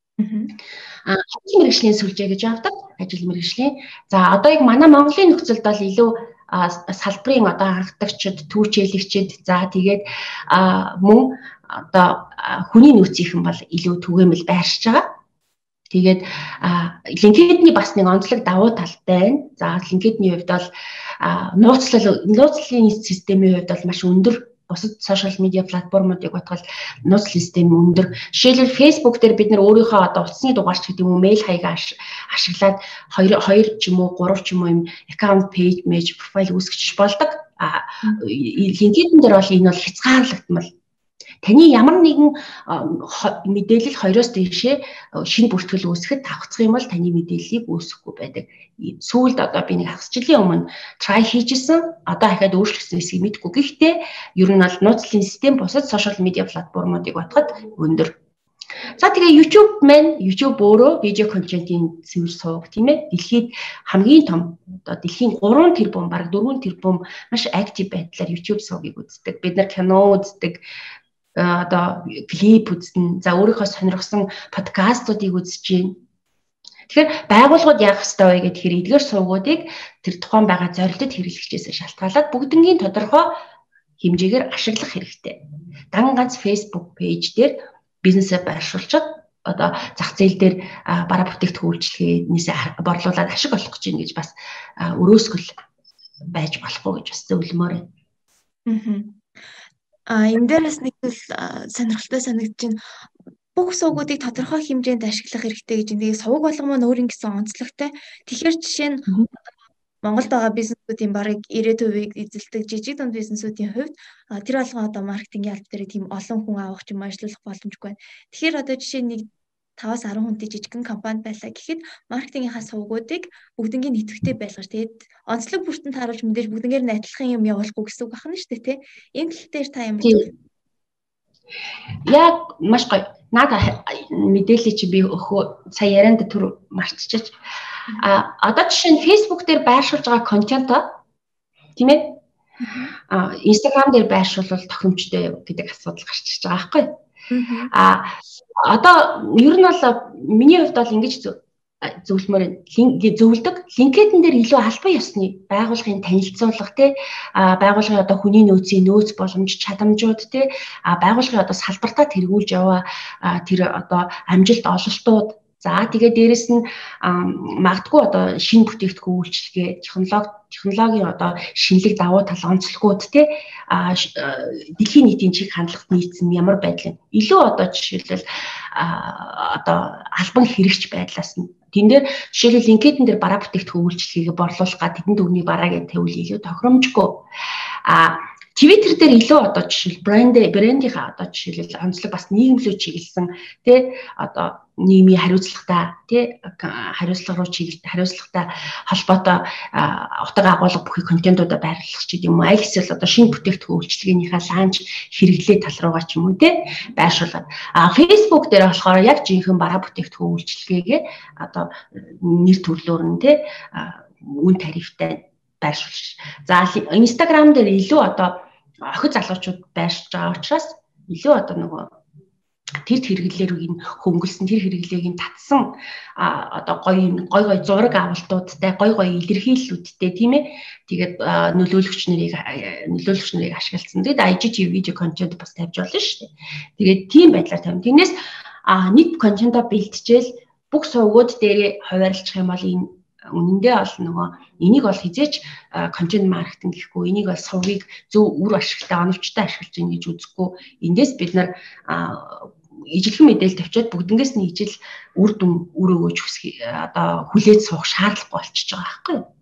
Ажил мэргэжлийн сүлжээ гэж авдаг. Ажил мэргэжлийн. За одоо яг манай Монголын нөхцөлд бол илүү салбарын одоо анхдагчид, түүчээлэгчид за тэгээд мөн одоо хүний нөөцийнхэн бол илүү түгээмэл байршиж байгаа. Тэгээд LinkedIn-ийн бас нэг онцлог давуу тал байна. За LinkedIn-ийн хувьд бол нууцлалын системийн хувьд бол маш өндөр. Бусад сошиал медиа платформуудыг батгал нууцлал систем өндөр. Жишээлбэл Facebook дээр бид нар өөрийнхөө одоо утасны дугаарч гэдэг юм уу, мэйл хаягаа ашиглаад 2 ч юм уу 3 ч юм уу юм аккаунт пэйж, профайл үүсгэж болдог. LinkedIn дээр бол энэ бол хязгаарлагдмал. Таны ямар нэгэн мэдээлэл 2-оос дээшээ шинэ бүртгэл үүсгэхэд тавцах юм бол таны мэдээллийг үүсгэхгүй байдаг. Сүүлд одоо би нэг хагас жилийн өмнө try хийжсэн. Одоо дахиад өөрчлөсөн эсэхийг мэдэхгүй. Гэхдээ ер нь бол нууцлалын систем бусад сошиал медиа платформуудыг батгад өндөр. За тэгээ YouTube өөрөө видео контентын цэвэр сувг тийм ээ. Дэлхийд хамгийн том одоо дэлхийн 3 тэрбум бараг 4 тэрбум маш актив байдлаар YouTube сувгийг үздэг. Бид нар кино үздэг, одоо клип үзнэ. За өөрийнхөө сонирхсан подкастуудыг үзэж байна. Тэгэхээр байгууллагууд яах ёстой вэ гэхээр эдгээр сувгуудыг тэр тухайн байгаа зорилтод хэрэглэгчээс шалтгаалаад бүгднгийн тодорхой хэмжээгээр ашиглах хэрэгтэй. Дан ганц Facebook пэйж дээр бизнесээ байршуулчаад одоо зах зээл дээр бараа бүтээгдэхүүн үйлчлэгээнээс борлуулаад ашиг олох гэж байна гэж бас өрөөсгөл байж болохгүй гэж бас зөвлөмөр байна. Энэ дээрээс нэг сонирхолтой санагдаж байна. Бүх сувгуудыг тодорхой хэмжээнд ашиглах хэрэгтэй гэж. Тэгээ сувг болгоом нь өөр ингэсэн онцлогтой. Тэгэхээр жишээ нь Монголд байгаа бизнесүүдийн барыг 90%-ийг эзэлдэг жижиг дунд бизнесүүдийн хувьд тэр болгон одоо маркетингийн алба дээр тийм олон хүн авах юм ажиллах боломжгүй байна. Тэгэхээр одоо жишээ нь 5-аас 10 хүнтэй жижигхэн компани байлаа гэхэд маркетингийнхаа сувгуудыг бүгднийг нэтгэвтэй байлгаж тэгээд онцлог бүртэн тааруулж мэдээж бүгднгээр нь адилхан юм явуулахгүй гэсэн үг байна шүү дээ тий. Энэ тал дээр та ямар зүйл? Яг маш гоё. Надад мэдээлэл чи би өхөө сая ярианд түр марцчихэж. Одоо жишээ нь Facebook дээр байршуулж байгаа контент тийм ээ. Instagram дээр байршуулвал тохиромжтой гэдэг асуудал гарч ирж байгаа байхгүй. Одоо ер нь бол миний хувьд бол ингэж зөвлөмөр зөвлөдөг. LinkedIn дээр илүү албан ёсны байгууллагын танилцуулга тий байгууллагын одоо хүний нөөцийн нөөц боломж чадамжууд тий байгууллагын одоо салбартаа тэргүүлж яваа тэр одоо амжилт ололтууд За тэгээд дээрэс нь магадгүй одоо шинэ бүтээгдэхүүн үйлчилгээ, технологийн одоо шинэлэг давуу тал онцлогуд те дэлхийн нийтийн чиг хандлагт нийцсэн ямар байдлын илүү одоо жишээлбэл одоо албан хэрэгч байдлаас нь тэн дээр жишээлбэл LinkedIn дээр бараа бүтээгдэхүүн үйлчилгээгээ борлуулах га тэдэнд өгний бараа гэдэг тавил илүү тохиромжгүй. Twitter дээр илүү одоо жишээл брендийнхаа одоо жишээлбэл онцлог бас нийгэмлүү чиглэсэн тий одоо нийгмийн хариуцлагатай тий хариуцлага руу чиглэлт хариуцлагатай холбоотой утга агуулга бүхий контентуудаа байрлах ч гэдэм юм уу аль эсвэл одоо шинэ бүтээгдэхүүн үйлчилгээнийхээ лаунч хэрэглээ тал руугаа ч юм уу тий байршуулаад Facebook дээр болохоор яг жинхэнэ бараа бүтээгдэхүүн үйлчилгээгээ одоо нэр төрлөөр нь тий үн тарифтай байршуулж. За Instagram дээр илүү одоо охид залуучууд байршиж байгаа учраас илүү одоо нөгөө тэр хэрэглээрийг хөнгөлсөн тэр хэрэглээг татсан одоо гой зураг авалтуудтай гой илэрхийллүүдтэй тийм ээ тэгээд нөлөөлөгч нарыг ашигласан. Тэгээд IGTV видео контент бас тавьж болно шүү дээ. Тэгээд тийм байдлаар тавина. Тэрнээс нэг контентоо бэлтжээл бүх сувгууд дээрээ хуваарлчих юм бол энэ үнэндээ бол нөгөө энийг бол хизээч контент маркетинг гэхгүй энийг бол сувгийг зөв үр ашигтай оновчтой ашиглаж ийн гэж үзэхгүй эндээс бид нар ижилхэн мэдээлэл тавьчаад бүгднгээс нь ижил үр дүн өрөөгөөж одоо хүлээж суух шаардлагагүй болчихж байгаа байхгүй юу.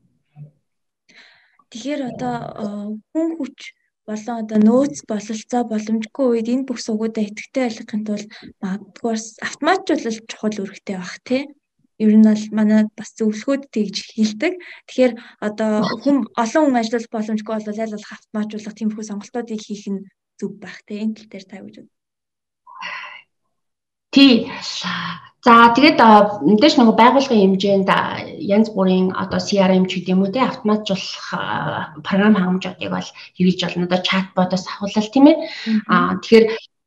Тэгэхээр одоо хүн хүч болон одоо нөөц бололцоо боломжгүй үед энэ бүх сувгуудаа идэвхтэй байлгахын тулд магадгүй автоматжуулалт чухал үүрэгтэй байх тийм. Ер нь бол манай бас зөвлөгөөд тэгж хэлдэг. Тэгэхээр одоо олон хүн ажиллах боломжгүй бол аль болох автоматжуулах тиймэрхүү сонголтуудыг хийх нь зөв байх тийм. Энэ тал дээр та юу гэж бодож байна? Тий. За тэгээд мэдээж нөгөө байгууллагын хэмжээнд янз бүрийн одоо CRM ч гэдэг юм уу те автоматжуулах програм хангамжуудыг бол хэрэгж болно. Одоо чатботоос ахуулал тийм ээ. Тэгэхээр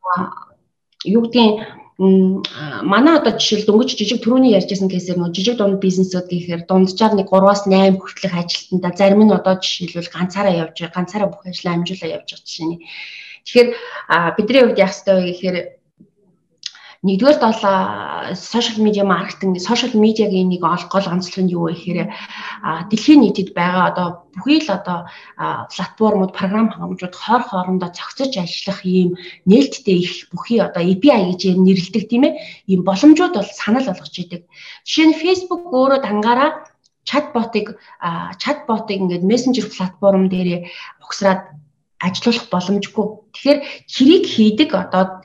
юу гэдгийг манай одоо жишээл дөнгөж жижиг түрүүний ярьжсэн кейсээр нөгөө жижиг дунд бизнесүүд гэхээр дунджаар нэг 3-8 хүртэлх ажилтнаа зарим нь одоо жишээлбэл ганцаараа бүх ажлаа амжуулаа явж байгаа жишээ нь. Тэгэхээр бидний хувьд яах ёстой вэ гэхээр нэгдүгээр бол сошиал медиа маркетинг, сошиал медиагийн нэг гол онцлог нь юу вэ гэхээр дэлхийн нийтэд байгаа одоо бүхий л одоо платформуд, програм хангамжууд хоорондоо цогцож ажиллах ийм нээлттэй их бүхий одоо API гэж нэрлэдэг тийм ээ. Ийм боломжууд бол санал болгож идэг. Жишээ нь Facebook өөрөө дангаараа чатботыг ингээд мессенжер платформ дээр угсраад ажиллах боломжгүй. Тэгэхээр хэрийг хийдэг одоо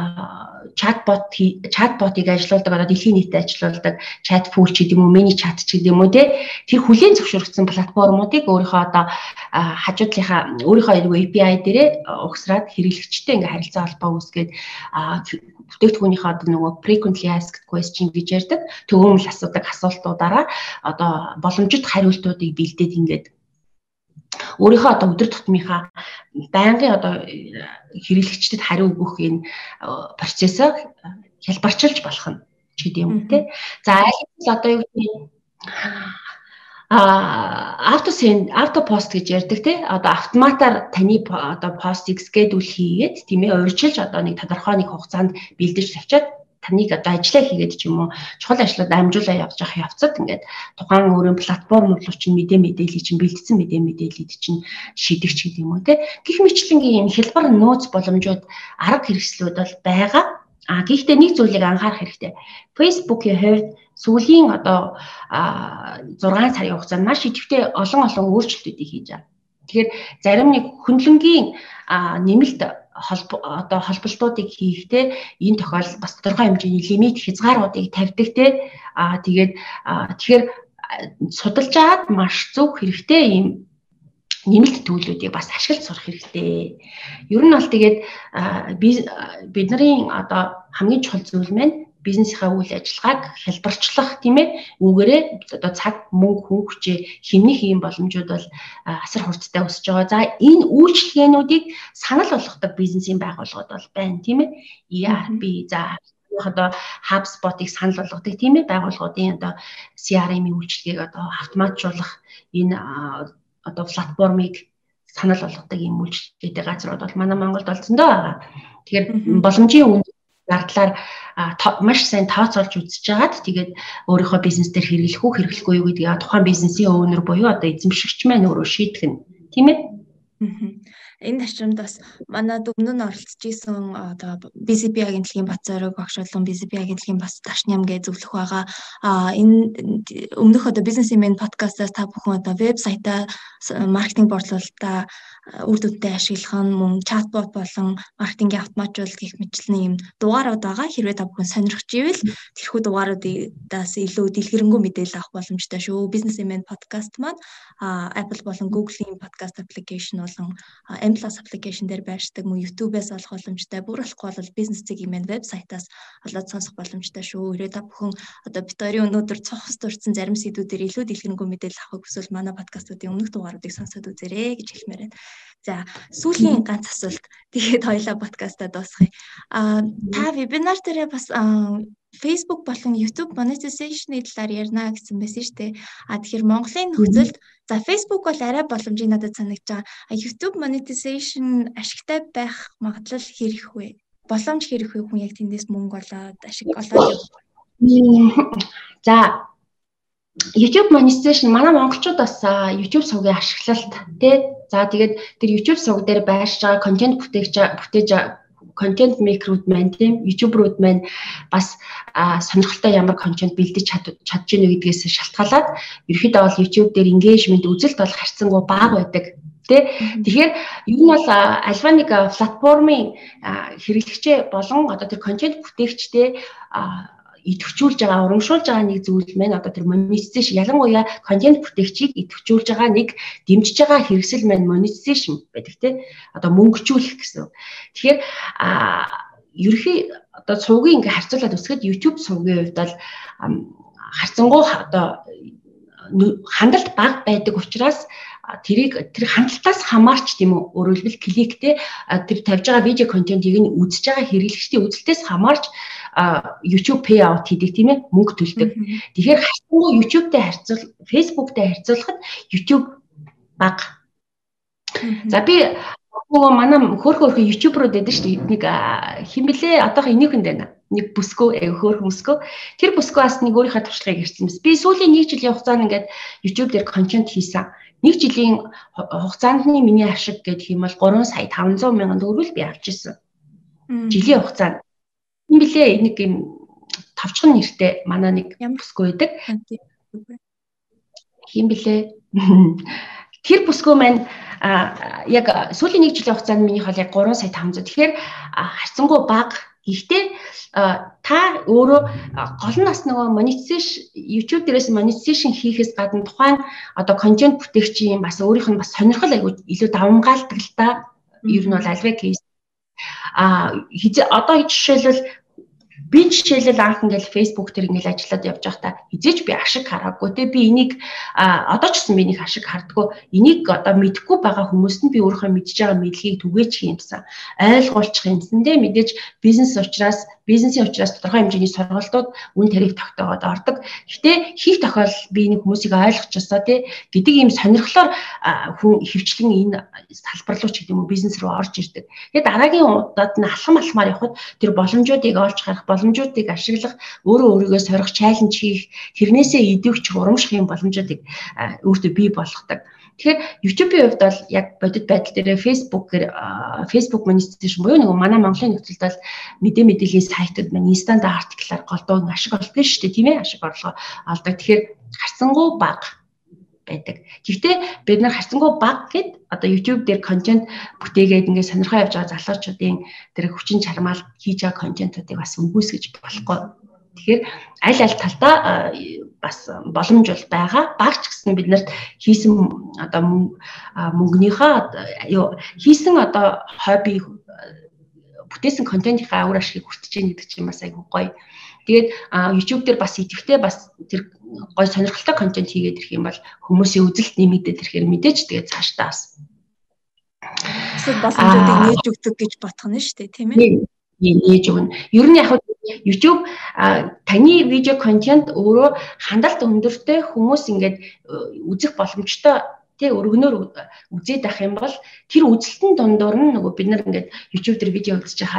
чатботыг ажилуулдаг одоо дэлхийн нийтэд ажилуулдаг чат пул ч гэдэг юм уу, мини чат ч гэдэг юм уу те тэр хүлээн зөвшөөрөгдсөн платформуудыг өөрийнхөө одоо хажуудлынхаа өөрийнхөө API дээрээ угсраад хэрэглэгчтэй ингээ харилцаа холбоо үүсгээд бүтээгдэхүүнийхээ одоо нөгөө frequently asked question гэж ярьдаг төгөөмөл асуудаг асуултуудаараа одоо боломжит хариултуудыг бэлдээд ингээд өөрийнхөө одоо өдөр тутмынхаа байнгын одоо хэрэглэгчдэд хариу өгөх энэ процессыг хялбарчилж болох нь ч гэдэм юм те. За аль одоо юу гэдэг автопост гэж ярьдаг те. Одоо автоматар таны одоо постыг schedule хийгээд тийм ээ урьдчилж одоо нэг тодорхой нэг хугацаанд бэлдэж тавьчаад таныг одоо ажиллаа хийгээд ч юм уу чухал ажлууд амжуулаа явж явах явцад ингээд тухайн өөрийн платформ руу чинь мэдээллийг чинь бэлдсэн мэдээллийг чинь шийдэгч гэдэг юм уу те. Гэх мэтлэнгийн юм хялбар нөөц боломжууд арга хэрэгслүүд бол байгаа. Гэхдээ нэг зүйлийг анхаарах хэрэгтэй. Facebook-ийн хувьд сүүлийн одоо 6 сарын хугацаанд маш идэвхтэй олон өөрчлөлтүүдийг хийж байгаа. Тэгэхээр зарим нэг хөндлөнгийн нэмэлт одоо холболтуудыг хийхдээ энэ тохиолдолд бас тодорхой хэмжээний лимит хязгааруудыг тавьдаг те. Тэгэхээр судалж аваад маш зөв хэрэгтэй ийм нэмэлт төлөвлөлтийг бас ашиглаж сурах хэрэгтэй. Ер нь бол тэгээд бидний одоо хамгийн чухал зүйл маань бизнесийнхаа үйл ажиллагааг хялбарчлах тийм ээ үүгээрээ одоо цаг мөнгө хүн хүчээ хэмнэх ийм боломжууд бол асар хурдтай өсөж байгаа. За энэ үйлчлэгээнүүдийг санал болгодог бизнесийн байгууллагууд бол байна тийм ээ. ERP за одоо HubSpot-ыг санал болгодог тийм ээ байгууллагуудын одоо CRM-ийн үйлчлэгийг одоо автоматжуулах энэ одоо платформыг санал болгодог ийм үйлчлэгээтэй газрууд бол манай Монголд олзондоо байгаа. Тэгэхээр боломжийн үнд зардлаар маш сайн тооцоолж үзэж хагаад тэгээд өөрийнхөө бизнес дээр хэрэглэх үү хэрэглэхгүй юу гэдгийг тухайн бизнесийн өвнөр буюу одоо эзэмшигч маань өөрөө шийдэх нь тийм ээ. Энэ ташрамд бас манай өмнө нь оролцож исэн одоо BCP агентлагийн Бацорог багш болон BCP агентлагийн бас Дашням гэж зөвлөх байгаа. Энэ өмнөх одоо бизнесмен подкастаас та бүхэн одоо вебсайтаа маркетинг борлуулалтаа үр дүнтэй ашиглах нь мөн чатбот болон маркетингийн автоматжуулалт гэх мэтчлэн юм дугаарууд байгаа. Хэрвээ та бүхэн сонирхож ивэл тэрхүү дугааруудаас илүү дэлгэрэнгүй мэдээлэл авах боломжтой шүү. Бизнесмен подкаст маань Apple болон Google-ийн подкаст application болон M+ application дээр байршдаг мөн YouTube-ээс олох боломжтой. Бүр болохгүй бол бизнес цэгийн вебсайтаас олоод сонсох боломжтой шүү. Хэрвээ та бүхэн одоо бит хоёрын өнөөдөр цохос дурдсан зарим сэдвүүдээр илүү дэлгэрэнгүй мэдээлэл авахыг хүсвэл манай подкастуудын өмнөх дугааруудыг сонсоод үзээрэй гэж хэлмээр байна. За, сүүлийн ганц асуулт. Тэгээд хоёлаа подкастаа дуусгая. Та вебинар дээр бас Facebook болон YouTube monetization-ийн талаар ярина гэсэн байсан шүү дээ. Тэгэхээр Монголын нөхцөлд за Facebook бол арай боломжийг надад санагдаж байгаа. YouTube monetization ашигтай байх магадлал хэрэг вэ? Боломж хэрэг вэ? Хүн яг тэндээс мөнгө олоод ашиг олоод явах. За YouTube monetization манай монголчууд бас YouTube сувгийн ашиглалт тий. За тэгээд тэр YouTube сувг дээр байршиж байгаа контент бүтээж контент мейкерүүд маань тийм YouTuber-ууд маань бас сонирхолтой ямар контент бэлдэж чадж гинэ гэдгээс шалтгаалаад ерөөхдөө бол YouTube дээр engagement үзэлт бол харьцангуй бага байдаг. Тэгэхээр ер нь бол альва нэг платформын хэрэглэгчээ болон одоо тэр контент бүтээгчтэй идэвхжүүлж байгаа, урамшуулж байгаа нэг зүйл маань одоо тэр monetization ялангуяа контент бүтээгчийг идэвхжүүлж байгаа нэг дэмжиж байгаа хэрэгсэл маань monetization байдаг тийм одоо мөнгөжүүлэх гэсэн. Тэгэхээр ерөнхий одоо сувгийн ингээ харьцуулаад үсгэд YouTube сувгийн хувьд бол харьцангуй одоо хандлт бага байдаг учраас тэр хандлтаас хамаарч тийм үү өөрөөр хэлбэл кликтэй тэр тавьж байгаа видео контентийг нь үзэж байгаа хэрэглэгчдийн үзэлтээс хамаарч YouTube payout хийдэг тийм ээ мөнгө төлдөг. Тэгэхээр харьцангуй YouTube-тэй Facebook-тэй харьцуулахад YouTube бага. За би манай хөөрхөн YouTuber-ууд байдаг шүү дээ. Нэг хэн блэ одоох энийхэнд байна. Нэг бүсгөө хөөрхөн бүсгөө. Тэр бүсгөөс нэг өөрийнхөө туршлагыг ирсэн мэс. Би сүүлийн 1 жилийн хугацаанд ингээд YouTube дээр контент хийсэн. 1 жилийн хугацаанд миний ашиг гэдэг юм бол 3 сая 500 мянган төгрөг би авч ирсэн. Жилийн хугацаанд. Энэ блэ нэг юм тавчхан нэртэй манай нэг бүсгүй байдаг. Хин блэ? Тэр бүсгүй маань яг сүүлийн 1 жилийн хугацаанд минийх бол яг 3 сая 500. Тэгэхээр харьцангуй бага. Гэхдээ та өөрөө гол нь бас нөгөө monetization YouTube дээрээс monetization хийхээс гадна тухайн одоо контент бүтээгчийн бас өөрийнх нь бас сонирхол айгүй илүү давмгаалдаг л та. Ер нь бол альва кейс одоо жишээлбэл би жишээлбэл анх ингээл Facebook дээр ингээл ажиллаад явж байхдаа хизээч би ашиг хараагүй те би энийг одоо ч гэсэн би нэг ашиг хардггүй энийг одоо мэдхгүй байгаа хүмүүст нь би өөрийнхөө мэдж байгаа мэдлэгийг түгээж хиймсэн ойлгуулчих юмсан те мэдээж бизнесийн учраас тодорхой хэмжээний сургалтууд үн тариф тогтоогоод ордог. Гэтэ хийх тохиолдолд би нэг хүмүүсийг ойлгочихсоо те гэдэг ийм сонирхлоор хүн хөвчлэн энэ салбар руу ч гэдэг юм уу бизнес руу орж ирдэг. Тэгээд дараагийн удаад нь алхамаар явхад тэр боломжуудыг олж харах боломжуудыг ашиглах өөрөө өөрийгөө сорих чаленж хийх тэрнээсээ идэвхж урамших юм боломжуудыг өөртөө бий болгодог. Тэгэхээр YouTube-ийн хувьд бол яг бодит байдал дээр Facebook monetization буюу нөгөө манай Монголын нөхцөлд бол мэдээллийн сайтууд маань инстант артиклаар голдуу ашиг олдог шүү дээ тийм ээ ашиг орлого олдог. Тэгэхээр харьцангуй бага байдаг. Гэхдээ бид нар харьцангуй бага гэд одоо YouTube дээр контент бүтээгээд ингээд сонирхоо явж байгаа залуучуудын тэр хүчин чармаал хийж байгаа контентуудыг бас үгүйсгэж болохгүй. Тэгэхээр аль талдаа бас боломж бол байгаа. Багч гэсэн бид нарт хийсэн одоо мөнгөнийхөө хийсэн одоо хобби бүтээсэн контентынхаа үр ашигыг хүртэж яах гэдэг чинь бас айгүй гоё. Тэгээд YouTube дээр бас идэвхтэй бас тэр гоё сонирхолтой контент хийгээд ирэх юм бол хүмүүсийн үзэлт нэмэгдээд ирэхээр мэдээж тэгээд цаашдаа бас боломжуудыг нээж өгдөг гэж бодох нь шүү дээ тийм ээ. Нээж өгнө. Ер нь яг YouTube таны видео контент өөрөө хандлт өндөртэй хүмүүс ингээд үзэх боломжтой тий өргөнөөр үзээд авах юм бол тэр үзэлтэн дундуур нь нөгөө бид нар ингээд YouTube дээр видео үзэж хахаар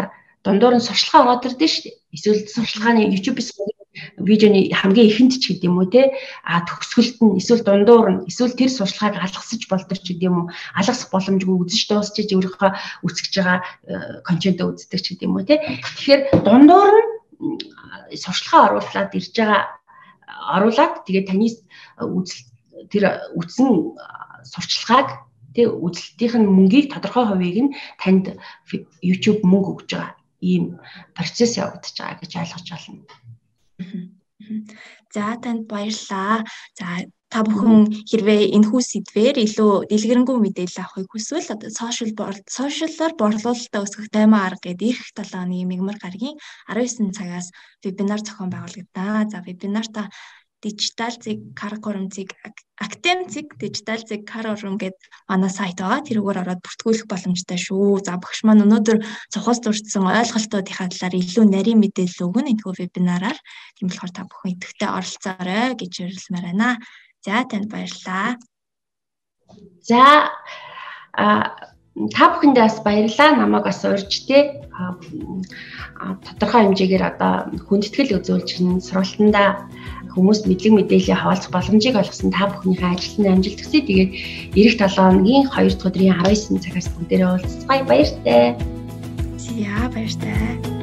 дундуур нь сурчлагаа ороод ирдэ шүү дээ. Эсвэл сурчлагын YouTube-с видеоны хамгийн ихэнд ч гэдэм үү те төгсгөлт нь эсвэл дундуур нь эсвэл тэр сурчлагыг алгасаж болдог ч гэдэм үү, алгасах боломжгүй үзэж дуусчиж өөрийнхөө үсгэж байгаа контентоо үздэг ч гэдэм үү те. Тэгэхээр дундуур нь сурчлагаа оруулаад тэгээд таны тэр үтсэн сурчлагыг тэг үзэлтийн мөнгийг тодорхой хувийг нь танд YouTube мөнгө өгж байгаа ийм процесс явагдаж байгаа гэж ойлгож байна. За танд баярлалаа. За та бүхэн хэрвээ энэхүү сэдвээр илүү дэлгэрэнгүй мэдээлэл авахыг хүсвэл одоо сошиалаар борлуулалтаа өсгөх таймаа арга гэдэг эх 7 оны мигмар гарагийн 19 цагаас вебинар зохион байгуулагдана. За вебинартаа дижитал зэг каркурум зэг актем зэг дижитал зэг каркурум гэдэг манай сайт байгаа. Тэрүүгээр ороод бүртгүүлэх боломжтой шүү. За багш маань өнөөдөр цохос дурдсан ойлголтуудынхаа талаар илүү нарийн мэдээлэл өгнө энэхүү вебинараар. Тийм болохоор та бүхэн идэвхтэй оролцоорой гэж уриалмаар байна. За танд баярлалаа. За та бүхэндээ бас баярлалаа. Намайг бас урьж те тодорхой хэмжээгээр одоо хүндэтгэл үзүүлж сургалтандаа хүмүүст мэдлэг мэдээлэл хаваалцах боломжийг олгосон та бүхнийхээ ажилтны амжилт хүсье. Тэгээд эх 7 өдрийн 2 дугаар өдрийн 19 цагаас бүгдээрээ уулзцгаая. Баяртай. За баяртай.